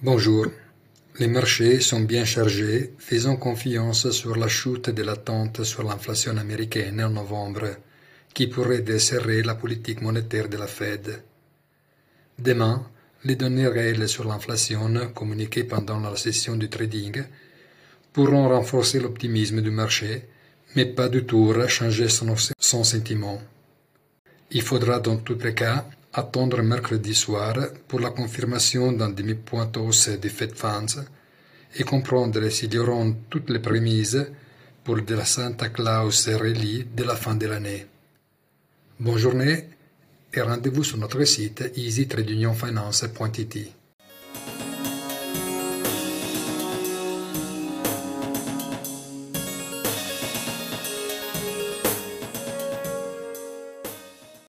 Bonjour. Les marchés sont bien chargés, faisant confiance sur la chute de l'attente sur l'inflation américaine en novembre, qui pourrait desserrer la politique monétaire de la Fed. Demain, les données réelles sur l'inflation, communiquées pendant la session du trading, pourront renforcer l'optimisme du marché, mais pas du tout changer son sentiment. Il faudra dans tous les cas attendre mercredi soir pour la confirmation d'un demi-point hausse des Fed Funds et comprendre s'ils auront toutes les prémices pour de la Santa Claus Rally de la fin de l'année. Bonne journée et rendez-vous sur notre site easytradeunionfinance.it.